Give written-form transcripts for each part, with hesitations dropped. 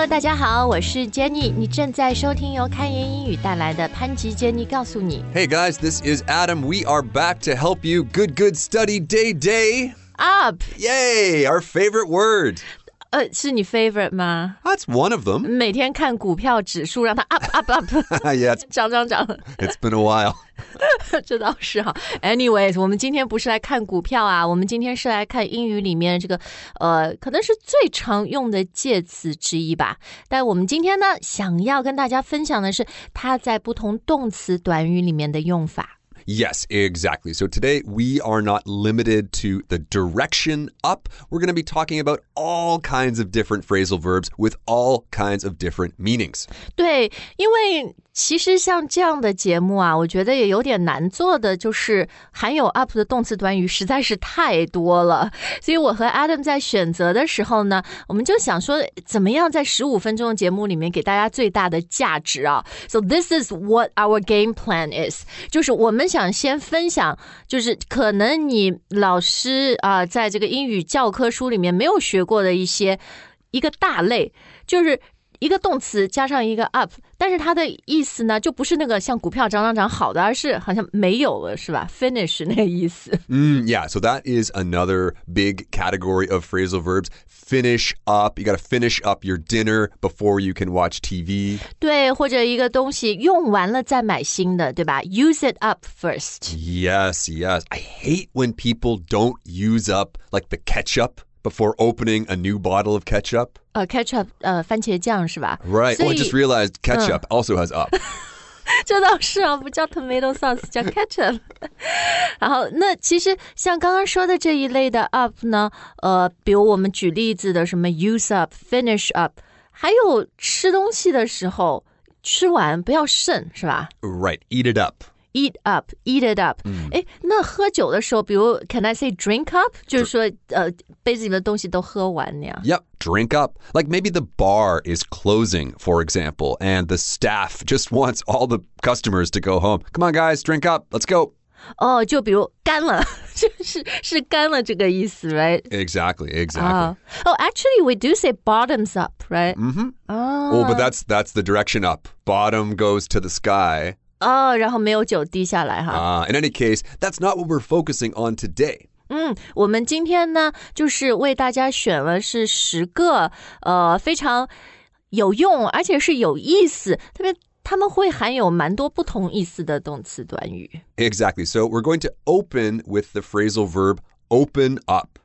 Hello， 大家好，我是 Jenny， 你正在收听由开言英语带来的潘吉 Jenny 告诉你。 Hey guys, this is Adam. We are back to help you. Good study day. Up， Yay, our favorite word. 是你 favorite 吗？ That's one of them. 每天看股票指数，让它 up Yeah, 涨。 it's been a while. 这倒是哈。Anyways， 我们今天不是来看股票啊，我们今天是来看英语里面这个可能是最常用的介词之一吧。但我们今天呢，想要跟大家分享的是它在不同动词短语里面的用法。 Yes, exactly. So today we are not limited to the direction up. We're going to be talking about all kinds of different phrasal verbs with all kinds of different meanings. 对，因为其实像这样的节目啊，我觉得也有点难做的，就是含有 up 的动词短语实在是太多了。所以我和 Adam 在选择的时候呢，我们就想说怎么样在15分钟的节目里面给大家最大的价值啊。So this is what our game plan is. 就是我们想先分享，就是可能你老师在这个英语教科书里面没有学过的一个大类，就是一个动词加上一个 up， 但是它的意思呢，就不是那个像股票涨好的，而是好像没有了，是吧 ？Finish 那个意思。 Yeah, so that is another big category of phrasal verbs. Finish up. You got to finish up your dinner before you can watch TV. 对，或者一个东西用完了再买新的，对吧 ？Use it up first. Yes. I hate when people don't use up like the ketchup before opening a new bottle of ketchup. Ketchup 番茄酱是吧 Right. Oh, I just realized ketchup also has up. 这倒是啊，不叫 tomato sauce， 叫 ketchup。然后，那其实像刚刚说的这一类的 up 呢，比如我们举例子的什么 use up、finish up， 还有吃东西的时候，吃完不要剩，是吧 Right. Eat it up.Eat it up. 那喝酒的时候，比如 can I say drink up？ 就是说杯子里的东西都喝完那样。 Yep, drink up. Like maybe the bar is closing, for example, and the staff just wants all the customers to go home. Come on, guys, drink up. Let's go. 就比如干了，是干了这个意思 ，right? Exactly. Actually, we do say bottoms up, right? Oh, but that's the direction up. Bottom goes to the sky. 然后没有酒滴下来哈。 In any case, that's not what we're focusing on today. 我们今天呢，就是为大家选了是10个非常有用而且是有意思，特别他们会含有蛮多不同意思的动词短语。 Exactly. So we're going to open with the phrasal verb open up.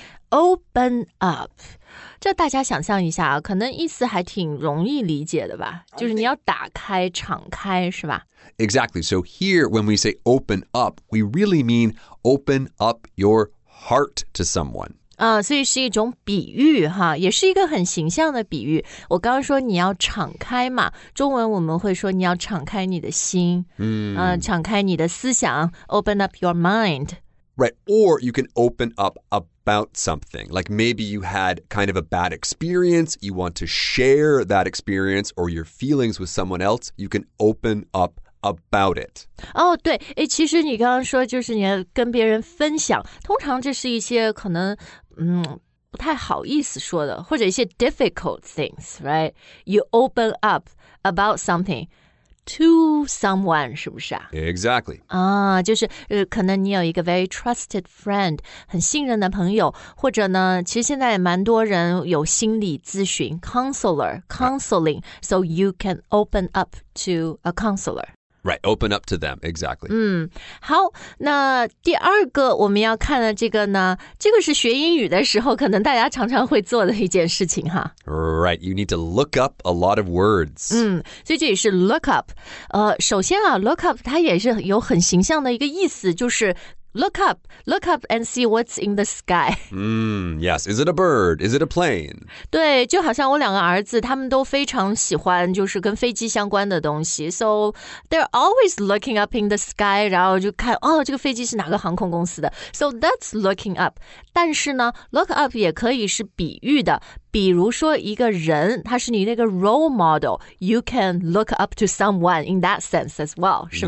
Open up， 这大家想象一下啊，可能意思还挺容易理解的吧，就是你要打开、敞开，是吧？ Exactly. So here, when we say open up, we really mean open up your heart to someone. 所以是一种比喻哈，也是一个很形象的比喻。我刚刚说你要敞开嘛，中文我们会说你要敞开你的心，敞开你的思想 ，open up your mind。Right, or you can open up about something. Like maybe you had kind of a bad experience, you want to share that experience or your feelings with someone else, you can open up about it. 对，其实你刚刚说就是你要跟别人分享，通常这是一些可能不太好意思说的，或者一些 difficult things, right? You open up about something.To someone 是不是啊 Exactly. 就是可能你有一个 very trusted friend 很信任的朋友，或者呢其实现在也蛮多人有心理咨询 counseling, so you can open up to a counselor.Right, open up to them, exactly. 好，那第二个我们要看的这个呢，这个是学英语的时候可能大家常常会做的一件事情哈。 Right, you need to look up a lot of words. 所以这也是 look up。首先啊 ，look up 它也是有很形象的一个意思，就是Look up and see what's in the sky. Yes. Is it a bird? Is it a plane? 对，就好像我2个儿子，他们都非常喜欢就是跟飞机相关的东西 ，so they're always looking up in the sky， 然后就看这个飞机是哪个航空公司的 ，so that's looking up。但是呢 ，look up 也可以是比喻的，比如说一个人，他是你那个 role model，you can look up to someone in that sense as well， 是吧？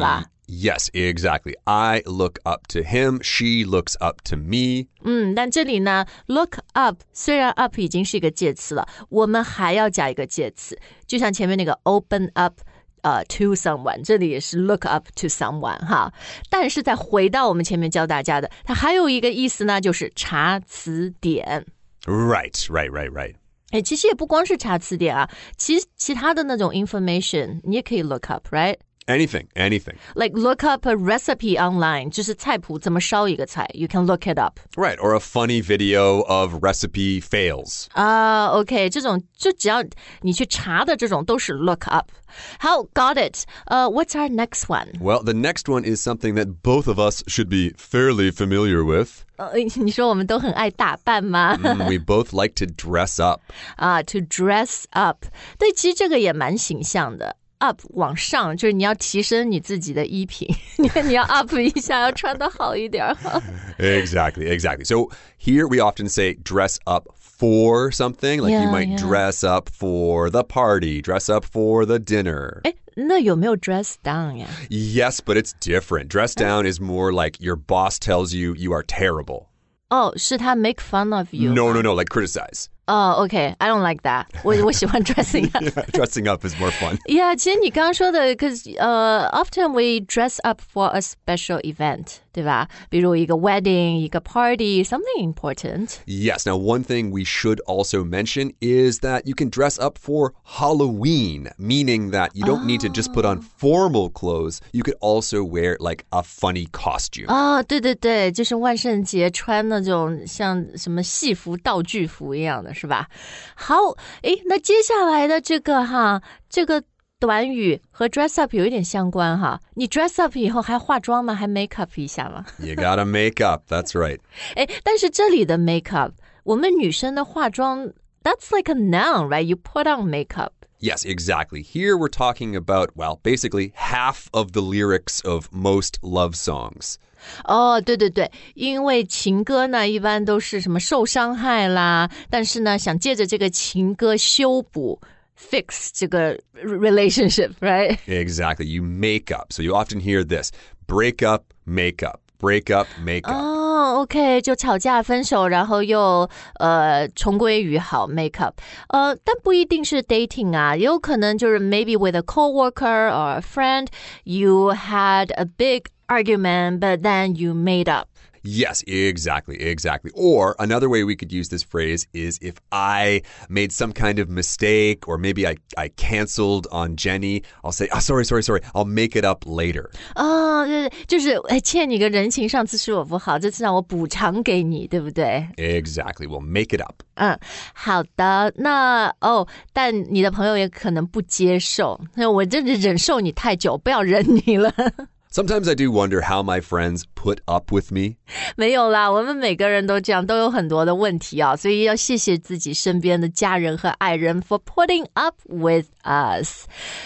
Yes, exactly. I look up to him. She looks up to me. 但这里呢 look up 虽然 up 已经是一个介词了，我们还要加一个介词，就像前面那个 open up to someone， 这里也是 look up to someone 哈。但是再回到我们前面教大家的，它还有一个意思呢，就是查词典。 Right. 其实也不光是查词典啊，其他的那种 information 你也可以 look up, right? Anything. Like look up a recipe online, 就是菜谱怎么烧一个菜 You can look it up. Right, or a funny video of recipe fails. OK, 这种就只要你去查的这种都是 look up. 好 got it. What's our next one? Well, the next one is something that both of us should be fairly familiar with. 你说我们都很爱打扮吗？ We both like to dress up. To dress up. 对，其实这个也蛮形象的。up 往上就是你要提升你自己的衣品你要 up 一下要穿得好一点 Exactly. So here we often say dress up for something. Like you might dress up for the party, dress up for the dinner. 那有没有 dress down 呀？ Yes, but it's different. Dress down is more like your boss tells you you are terrible. 是他 make fun of you? No, like criticize. Okay. I don't like that. 我喜欢 dressing up. Dressing up is more fun. Yeah, 其实你刚刚说的 because often we dress up for a special event, 对吧？比如一个 wedding, 一个 party, something important. Yes. Now, one thing we should also mention is that you can dress up for Halloween, meaning that you don't need to just put on formal clothes. You could also wear like a funny costume. 对，就是万圣节穿那种像什么戏服道具服一样的是吧？好，那接下来的这个短语和 dress up 有一点相关哈。你 dress up 以后还化妆吗？还 make up 一下吗？ You gotta make up. That's right. 但是这里的 make up， 我们女生的化妆 that's like a noun, right? You put on makeup. Yes, exactly. Here we're talking about, well, basically half of the lyrics of most love songs. 对，因为情歌呢一般都是什么受伤害啦，但是呢想借着这个情歌修补 fix 这个 relationship, right? Exactly. You make up. So you often hear this, break up, make up. Break up, make up. OK, 就吵架分手，然后又重归于好 make up. 但不一定是 dating 啊，也有可能就是 maybe with a coworker or a friend, you had a big argument, but then you made up. Yes, exactly. Or another way we could use this phrase is if I made some kind of mistake or maybe I canceled on Jenny, I'll say, sorry, I'll make it up later. 对，就是欠你个人情，上次是我不好，这次让我补偿给你，对不对？ Exactly. We'll make it up. 好的，那但你的朋友也可能不接受，我真的忍受你太久，不要忍你了。 Sometimes I do wonder how my friends put up with me. 没有啦，我们每个人都这样，都有很多的问题啊，所以要谢谢自己身边的家人和爱人 for putting up with us.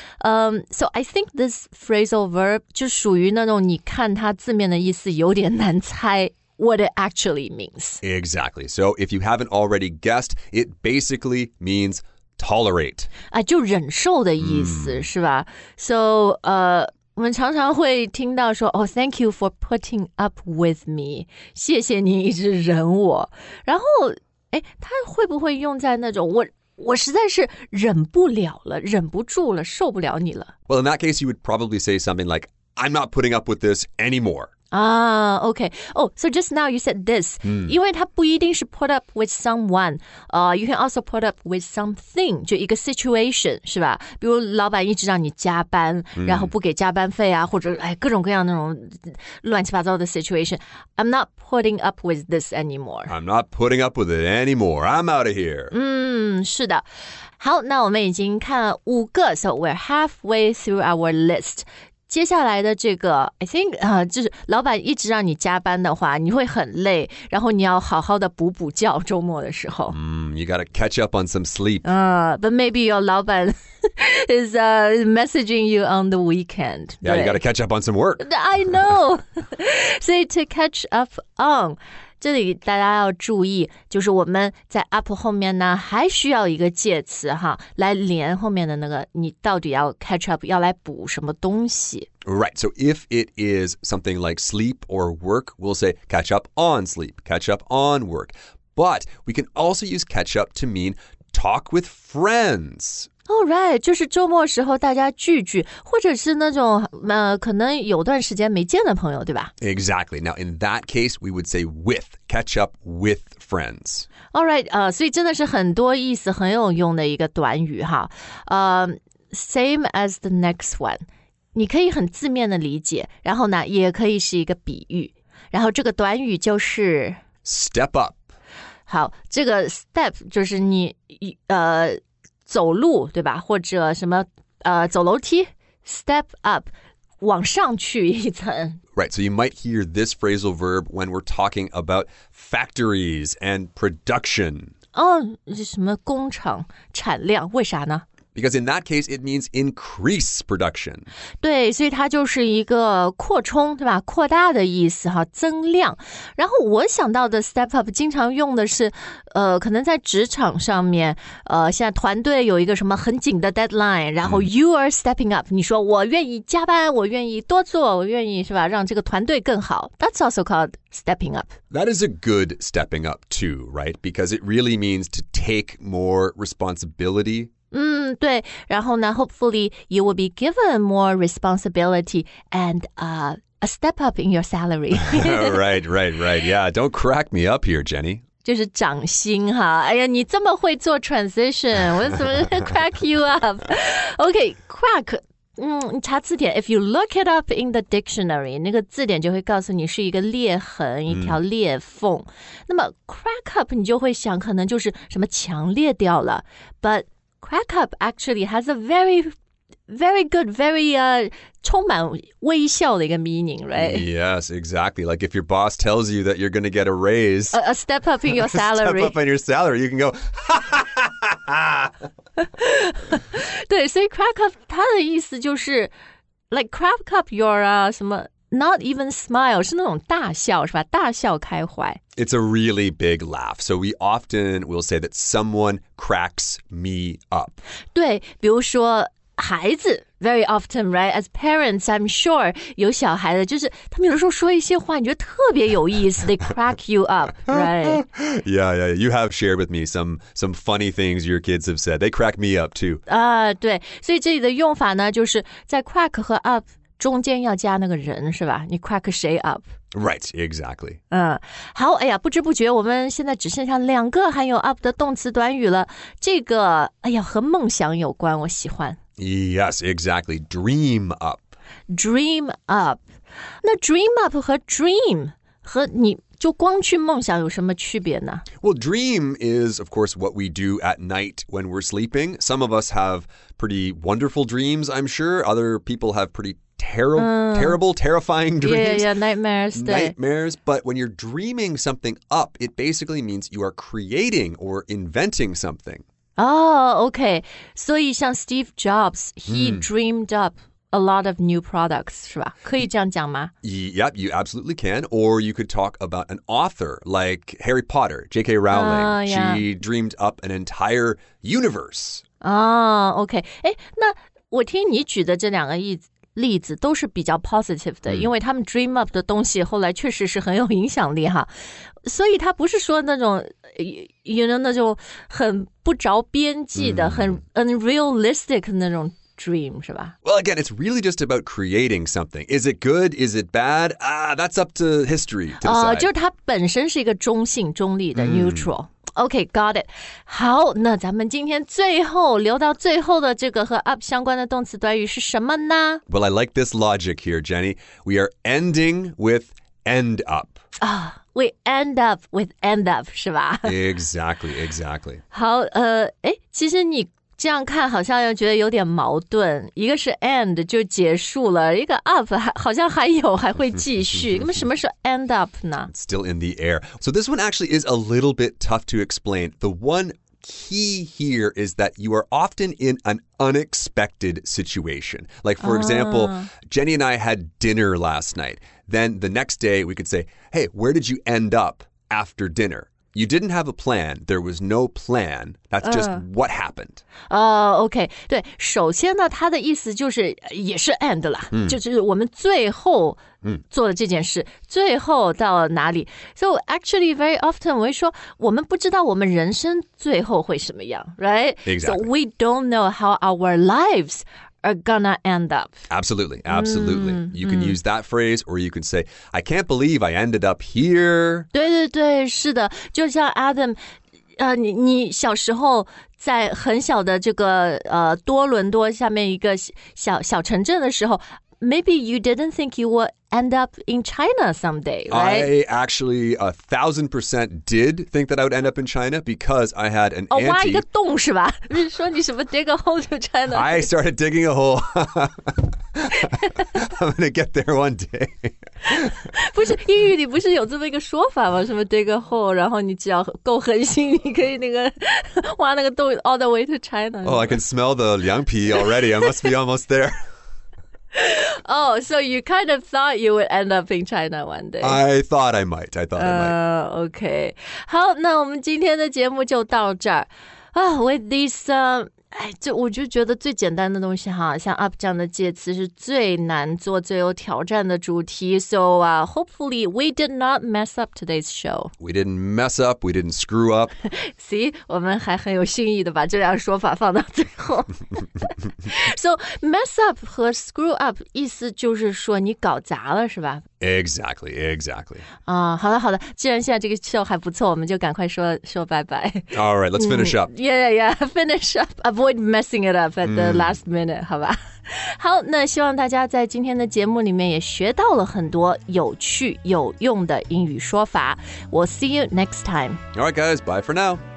So I think this phrasal verb 就属于那种你看它字面的意思有点难猜 what it actually means. Exactly. So if you haven't already guessed, it basically means tolerate. 就忍受的意思，是吧？ So, 我们常常会听到说thank you for putting up with me. 谢谢你一直忍我。然后，他会不会用在那种我实在是忍不了了，忍不住了，受不了你了。 Well, in that case, you would probably say something like, I'm not putting up with this anymore. Okay. So just now you said this. 因为它不一定是 put up with someone. You can also put up with something. 就一个 situation, 是吧？比如老板一直让你加班，然后不给加班费啊，或者各种各样那种乱七八糟的 situation. I'm not putting up with this anymore. I'm not putting up with it anymore. I'm out of here. 是的。好，那我们已经看了5个 So we're halfway through our list. 接下来的这个 I think 就是老板一直让你加班的话，你会很累，然后你要好好的补觉，周末的时候。 You gotta catch up on some sleep. But maybe your 老板 is messaging you on the weekend. Yeah, you gotta catch up on some work. I know. 所以 to catch up on 这里大家要注意，就是我们在 up 后面呢还需要一个介词哈，来连后面的那个你到底要 catch up 要来补什么东西。 Right. So if it is something like sleep or work, we'll say catch up on sleep, catch up on work. But we can also use catch up to mean talk with friends. Oh, right. 就是周末时候大家聚聚，或者是那种可能有段时间没见的朋友，对吧？ Exactly. Now, in that case, we would say with, catch up with friends. All right. 所以真的是很多意思很有用的一个短语哈。Same as the next one. 你可以很字面的理解，然后呢，也可以是一个比喻。然后这个短语就是 Step up. 好，这个 step 就是你走路对吧？或者什么走楼梯 step up 往上去一层。 Right, so you might hear this phrasal verb when we're talking about factories and production. 什么工厂产量？为啥呢？ Because in that case, it means increase production. 对，所以它就是一个扩充，对吧？扩大的意思哈，增量。然后我想到的 step up 经常用的是，可能在职场上面，现在团队有一个什么很紧的 deadline， 然后 you are stepping up， 你说我愿意加班，我愿意多做，我愿意是吧，让这个团队更好。That's also called stepping up. That is a good stepping up too, right? Because it really means to take more responsibility. 对，然后呢 hopefully you will be given more responsibility and a step up in your salary. Right. Yeah, don't crack me up here, Jenny. 就是涨薪哈，哎呀，你这么会做 transition， 我怎么 crack you up？ OK, crack， 你查字典 ，if you look it up in the dictionary， 那个字典就会告诉你是一个裂痕，一条裂缝。那么 crack up 你就会想，可能就是什么墙裂掉了 ，but crack up actually has a very good, very 充满微笑的一个 meaning, right? Yes, exactly. Like if your boss tells you that you're going to get a raise, a step up in your salary. Step up in your salary, you can go, ha, ha, ha, ha, ha. 对，所以 crack up 它的意思就是 like crack up your 什么 not even smile 是那种大笑是吧？大笑开怀。 It's a really big laugh. So we often will say that someone cracks me up. 对，比如说孩子 very often, right? As parents, I'm sure 有小孩的，就是他们有的时候说一些话，你觉得特别有意思 ，they crack you up, right? Yeah. You have shared with me some funny things your kids have said. They crack me up too. 对，所以这里的用法呢，就是在 crack 和 up 中间要加那个人，是吧？你 crack 谁 up？ Right, exactly. 好，哎呀，不知不觉我们现在只剩下2个含有 up 的动词短语了。这个，哎呀，和梦想有关，我喜欢。 Yes, exactly. Dream up. Dream up. 那 dream up 和 dream 和你就光去梦想有什么区别呢？ Well, dream is, of course, what we do at night when we're sleeping. Some of us have pretty wonderful dreams, I'm sure. Other people have pretty terrible, terrifying dreams. Yeah, nightmares. Nightmares. But when you're dreaming something up, it basically means you are creating or inventing something. OK. 所以像 Steve Jobs, he dreamed up a lot of new products, 是吧？可以这样讲吗？ Yep, you absolutely can. Or you could talk about an author like Harry Potter, J.K. Rowling. Yeah. She dreamed up an entire universe. OK. 哎，那我听你举的这2个例子都是比较 positive 的，因为他们 dream up 的东西后来确实是很有影响力哈，所以他不是说那种那种很不着边际的、很 unrealistic 那种 dream 是吧？ Well, again, it's really just about creating something. Is it good? Is it bad? That's up to history to decide. 就是它本身是一个中性、中立的 neutral。OK, got it. 好，那咱们今天最后留到最后的这个和 up 相关的动词短语是什么呢？ Well, I like this logic here, Jenny. We are ending with end up. We end up with end up 是吧？ Exactly. 好，其实你这样看好像又觉得有点矛盾，一个是 end 就结束了，一个 up 好像还会继续。那么什么是 end up 呢？ It's still in the air. So this one actually is a little bit tough to explain. The one key here is that you are often in an unexpected situation. Like, for example, Jenny and I had dinner last night. Then the next day we could say, hey, where did you end up after dinner? You didn't have a plan. There was no plan. That's just what happened. OK， 对，首先呢，它的意思就是也是 end 啦，就是我们最后做了这件事，最后到了哪里 ？So actually, very often 我会说，我们不知道我们人生最后会什么样 ，right? Exactly. So we don't know how our lives are gonna end up. Absolutely. You can use that phrase, or you can say, I can't believe I ended up here. 对对对，是的，就像 Adam，你小时候在很小的这个多伦多下面一个小城镇的时候 ，maybe you didn't think you would end up in China someday, right? I actually 1000% did think that I would end up in China because I had an auntie. 挖一个洞是吧？不是说你什么 dig a hole to China？ I started digging a hole. I'm going to get there one day. 不是英语里不是有这么一个说法吗？什么 dig a hole， 然后你只要够狠心，你可以那个挖那个洞 all the way to China. Oh, I can smell the liang pi already. I must be almost there. Oh, so you kind of thought you would end up in China one day. I thought I might. OK. 好，那我们今天的节目就到这儿啊。With this, 我就觉得最简单的东西哈，像 up 这样的介词是最难做、最有挑战的主题。So, hopefully we did not mess up today's show. We didn't mess up. We didn't screw up. See, 我们还很有新意的把这两个说法放到最后。So, mess up 和 screw up 意思就是说你搞砸了，是吧 Exactly. 好的，既然现在这个 show 还不错，我们就赶快说拜拜。 All right, let's finish up. Yeah, finish up. Avoid messing it up at the last minute, 好吧？好，那希望大家在今天的节目里面也学到了很多有趣有用的英语说法。We'll see you next time. All right, guys, bye for now.